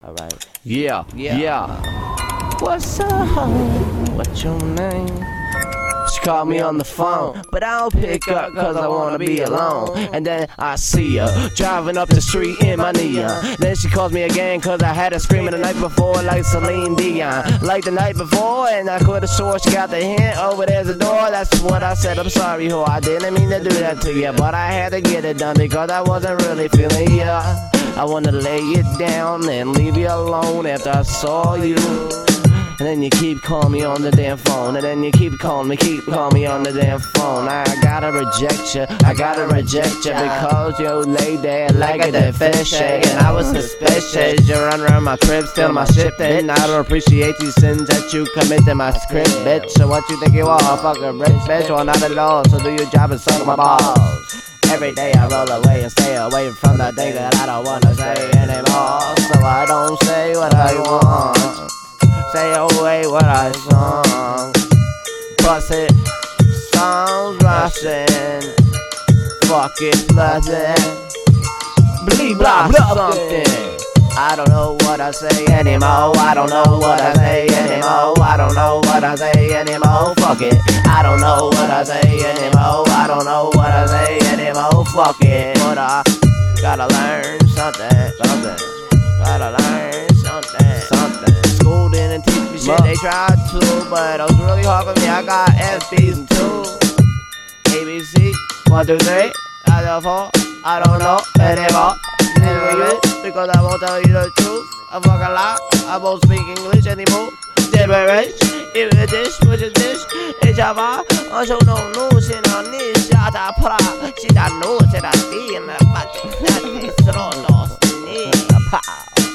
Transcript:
Alright. Yeah. What's up? What's your name? She called me on the phone, but I don't pick up cause I wanna be alone. And then I see her driving up the street in my neon. Then she calls me again cause I had her screaming the night before like Celine Dion. Like the night before, and I could've swore she got the hint. Over there's a door, that's what I said. I'm sorry, ho, I didn't mean to do that to you, but I had to get it done because I wasn't really feeling ya. I wanna lay it down and leave you alone after I saw you. And then you keep calling me on the damn phone. And then you keep calling me on the damn phone. I gotta reject you, because you lay there like a dead fish. And I was suspicious, you run around my crib, steal my shit. And I don't appreciate these sins that you commit in my script, bitch. So what you think you are, fucking rich bitch? Well, not at all, so do your job and suck my balls. Every day I roll away and stay away from the thing that I don't wanna say anymore. So I don't say what I want, say away what I sung. Bust it, sounds rushing. Fuck it, pleasant. Blee blah something. I don't know what I say anymore. I don't know what I say anymore. I don't know what I say anymore. Fuck it. I don't know what I say anymore. I don't know what I say anymore. Fuck it. But I gotta learn something. Gotta learn something. School didn't teach me shit. They tried to, but it was really hard for me. I got F, B's, and 2. ABC, 1, 2, 3. I don't know. I don't know anymore. Because I won't tell you the truth. I fuck a lot. I won't speak English anymore. Gibberish. If a dish, which is dish. It's Java. Also no news in a niche. Shata pra. She da knows that I see in the butt. That is so lost.